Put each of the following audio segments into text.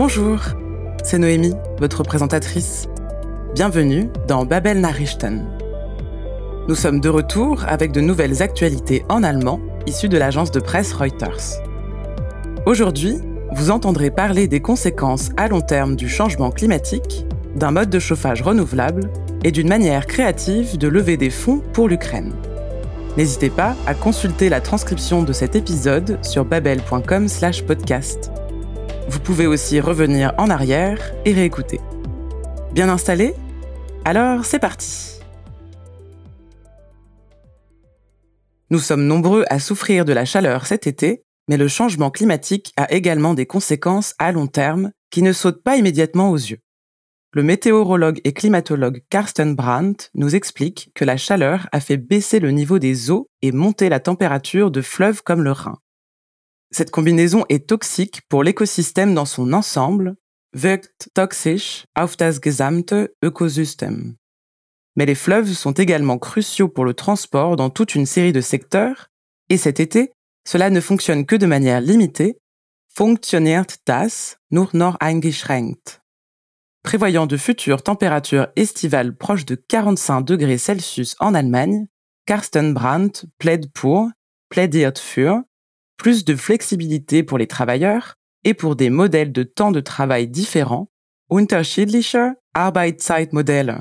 Bonjour, c'est Noémie, votre présentatrice. Bienvenue dans Babel Nachrichten. Nous sommes de retour avec de nouvelles actualités en allemand issues de l'agence de presse Reuters. Aujourd'hui, vous entendrez parler des conséquences à long terme du changement climatique, d'un mode de chauffage renouvelable et d'une manière créative de lever des fonds pour l'Ukraine. N'hésitez pas à consulter la transcription de cet épisode sur babel.com/podcast. Vous pouvez aussi revenir en arrière et réécouter. Bien installé ? Alors, c'est parti ! Nous sommes nombreux à souffrir de la chaleur cet été, mais le changement climatique a également des conséquences à long terme qui ne sautent pas immédiatement aux yeux. Le météorologue et climatologue Carsten Brandt nous explique que la chaleur a fait baisser le niveau des eaux et monter la température de fleuves comme le Rhin. Cette combinaison est toxique pour l'écosystème dans son ensemble, wirkt toxisch auf das gesamte Ökosystem. Mais les fleuves sont également cruciaux pour le transport dans toute une série de secteurs, et cet été, cela ne fonctionne que de manière limitée, funktioniert das nur noch eingeschränkt. Prévoyant de futures températures estivales proches de 45 degrés Celsius en Allemagne, Carsten Brandt plädiert für, plus de flexibilité pour les travailleurs et pour des modèles de temps de travail différents, unterschiedliche Arbeitszeitmodelle.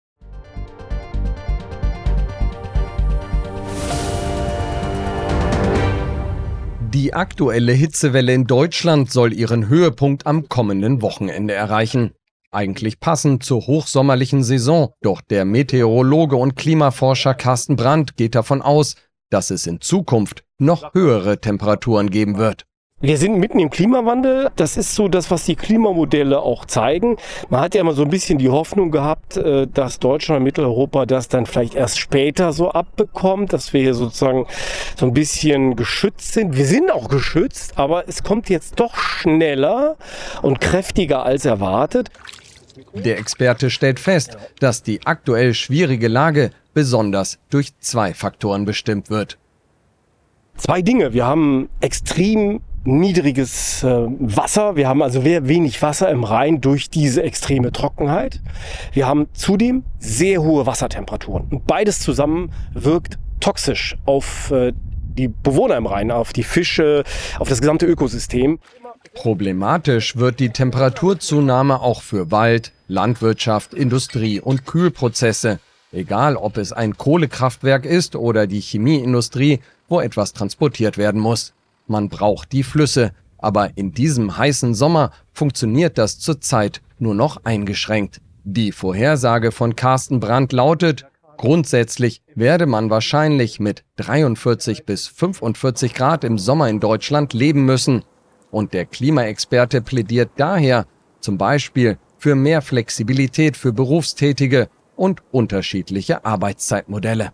Die aktuelle Hitzewelle in Deutschland soll ihren Höhepunkt am kommenden Wochenende erreichen. Eigentlich passend zur hochsommerlichen Saison, doch der Meteorologe und Klimaforscher Carsten Brandt geht davon aus, dass es in Zukunft noch höhere Temperaturen geben wird. Wir sind mitten im Klimawandel. Das ist so das, was die Klimamodelle auch zeigen. Man hat ja immer so ein bisschen die Hoffnung gehabt, dass Deutschland und Mitteleuropa das dann vielleicht erst später so abbekommt, dass wir hier sozusagen so ein bisschen geschützt sind. Wir sind auch geschützt, aber es kommt jetzt doch schneller und kräftiger als erwartet. Der Experte stellt fest, dass die aktuell schwierige Lage besonders durch zwei Faktoren bestimmt wird. Zwei Dinge. Wir haben extrem niedriges Wasser. Wir haben also wenig Wasser im Rhein durch diese extreme Trockenheit. Wir haben zudem sehr hohe Wassertemperaturen. Und beides zusammen wirkt toxisch auf die Bewohner im Rhein, auf die Fische, auf das gesamte Ökosystem. Problematisch wird die Temperaturzunahme auch für Wald, Landwirtschaft, Industrie und Kühlprozesse. Egal, ob es ein Kohlekraftwerk ist oder die Chemieindustrie, wo etwas transportiert werden muss. Man braucht die Flüsse, aber in diesem heißen Sommer funktioniert das zurzeit nur noch eingeschränkt. Die Vorhersage von Carsten Brandt lautet, grundsätzlich werde man wahrscheinlich mit 43 bis 45 Grad im Sommer in Deutschland leben müssen. Und der Klimaexperte plädiert daher zum Beispiel für mehr Flexibilität für Berufstätige und unterschiedliche Arbeitszeitmodelle.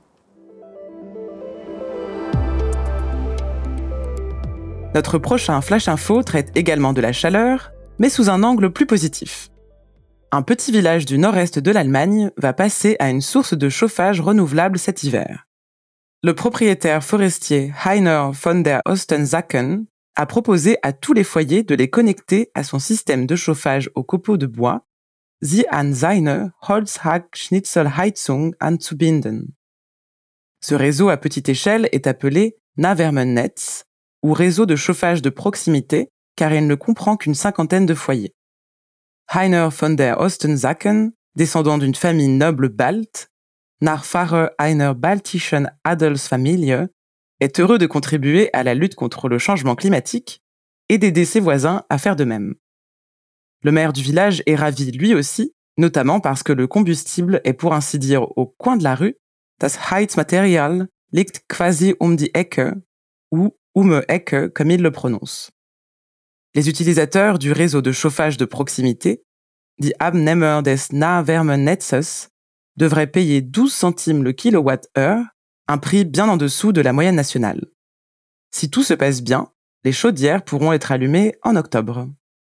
Notre prochain Flash Info traite également de la chaleur, mais sous un angle plus positif. Un petit village du nord-est de l'Allemagne va passer à une source de chauffage renouvelable cet hiver. Le propriétaire forestier Heiner von der Ostensacken a proposé à tous les foyers de les connecter à son système de chauffage aux copeaux de bois, sie an seine Holzhack-Schnitzelheizung anzubinden. Ce réseau à petite échelle est appelé Nahwärmenetz, ou réseau de chauffage de proximité, car il ne comprend qu'une cinquantaine de foyers. Heiner von der Ostensacken, descendant d'une famille noble balte, Nachfahre einer baltischen Adelsfamilie, est heureux de contribuer à la lutte contre le changement climatique et d'aider ses voisins à faire de même. Le maire du village est ravi lui aussi, notamment parce que le combustible est pour ainsi dire au coin de la rue, das Heizmaterial liegt quasi die Ecke, ou Ecke comme il le prononce. Les utilisateurs du réseau de chauffage de proximité, die Abnehmer des Nahwärmenetzes, devraient payer 12 centimes le kilowatt-heure, un prix bien en dessous de la moyenne nationale. Si tout se passe bien, les chaudières pourront être allumées en octobre.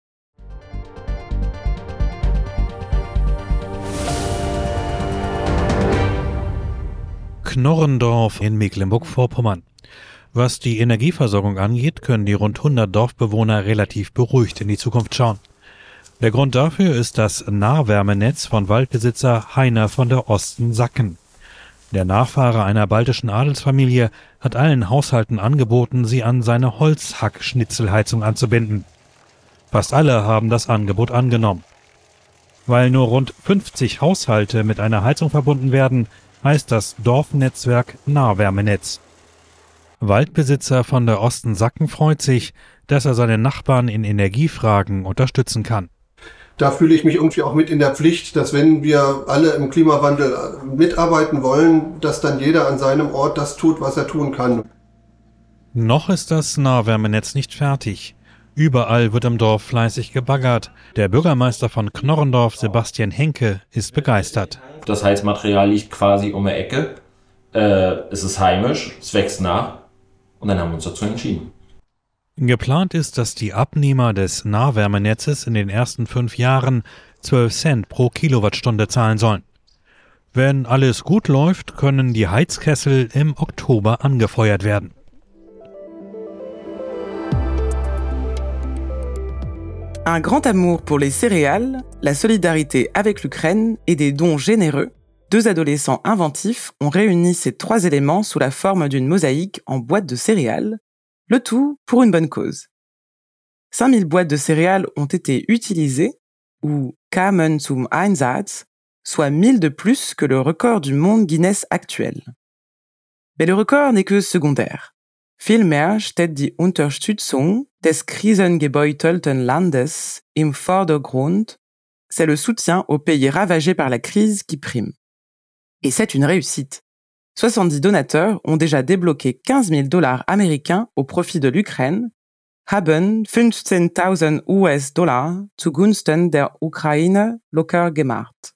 Knorrendorf in Mecklenburg-Vorpommern. Was die Energieversorgung angeht, können die rund 100 Dorfbewohner relativ beruhigt in die Zukunft schauen. Der Grund dafür ist das Nahwärmenetz von Waldbesitzer Heiner von der Osten-Sacken. Der Nachfahre einer baltischen Adelsfamilie hat allen Haushalten angeboten, sie an seine Holzhack-Schnitzelheizung anzubinden. Fast alle haben das Angebot angenommen. Weil nur rund 50 Haushalte mit einer Heizung verbunden werden, heißt das Dorfnetzwerk Nahwärmenetz. Waldbesitzer von der Osten-Sacken freut sich, dass er seine Nachbarn in Energiefragen unterstützen kann. Da fühle ich mich irgendwie auch mit in der Pflicht, dass wenn wir alle im Klimawandel mitarbeiten wollen, dass dann jeder an seinem Ort das tut, was er tun kann. Noch ist das Nahwärmenetz nicht fertig. Überall wird im Dorf fleißig gebaggert. Der Bürgermeister von Knorrendorf, Sebastian Henke, ist begeistert. Das Heizmaterial liegt quasi um die Ecke. Es ist heimisch, es wächst nach. Und dann haben wir uns dazu entschieden. Geplant ist, dass die Abnehmer des Nahwärmenetzes in den ersten 5 Jahren 12 Cent pro Kilowattstunde zahlen sollen. Wenn alles gut läuft, können die Heizkessel im Oktober angefeuert werden. Un grand amour pour les céréales, la solidarité avec l'Ukraine et des dons généreux, 2 adolescents inventifs ont réuni ces 3 éléments sous la forme d'une mosaïque en boîte de céréales, le tout pour une bonne cause. 5000 boîtes de céréales ont été utilisées, ou kamen zum Einsatz, soit 1000 de plus que le record du monde Guinness actuel. Mais le record n'est que secondaire. Vielmehr steht die Unterstützung des krisengebeutelten Landes im Vordergrund. C'est le soutien aux pays ravagés par la crise qui prime. Et c'est une réussite. 70 donateurs ont déjà débloqué 15 000 $ américains au profit de l'Ukraine, haben 15.000 US-Dollar zugunsten der Ukraine locker gemacht.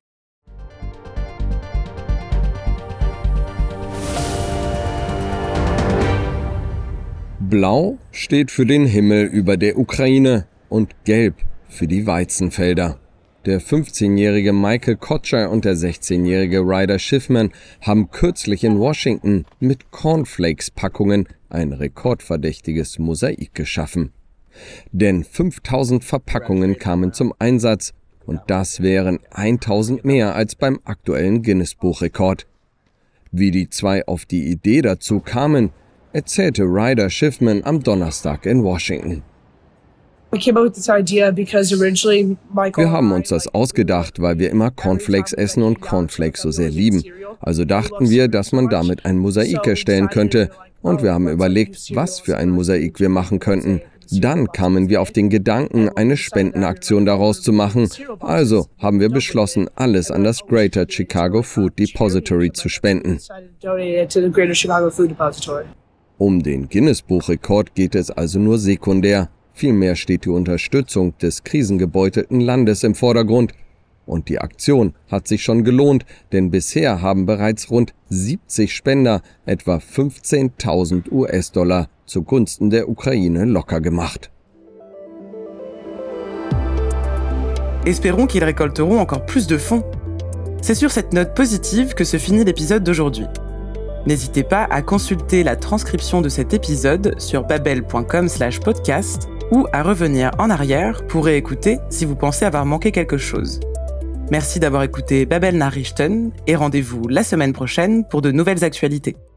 Blau steht für den Himmel über der Ukraine und Gelb für die Weizenfelder. Der 15-jährige Michael Kotscher und der 16-jährige Ryder Schiffman haben kürzlich in Washington mit Cornflakes-Packungen ein rekordverdächtiges Mosaik geschaffen. Denn 5000 Verpackungen kamen zum Einsatz und das wären 1000 mehr als beim aktuellen Guinness-Buchrekord. Wie die 2 auf die Idee dazu kamen, erzählte Ryder Schiffman am Donnerstag in Washington. Wir haben uns das ausgedacht, weil wir immer Cornflakes essen und Cornflakes so sehr lieben. Also dachten wir, dass man damit ein Mosaik erstellen könnte. Und wir haben überlegt, was für ein Mosaik wir machen könnten. Dann kamen wir auf den Gedanken, eine Spendenaktion daraus zu machen. Also haben wir beschlossen, alles an das Greater Chicago Food Depository zu spenden. Um den Guinness-Buchrekord geht es also nur sekundär. Vielmehr steht die Unterstützung des krisengebeutelten Landes im Vordergrund. Und die Aktion hat sich schon gelohnt, denn bisher haben bereits rund 70 Spender etwa 15.000 US-Dollar zugunsten der Ukraine locker gemacht. Espérons qu'ils récolteront encore plus de fonds. C'est sur cette note positive que se finit l'épisode d'aujourd'hui. N'hésitez pas à consulter la transcription de cet épisode sur babel.com/podcast ou à revenir en arrière pour réécouter si vous pensez avoir manqué quelque chose. Merci d'avoir écouté Babel Nachrichten et rendez-vous la semaine prochaine pour de nouvelles actualités.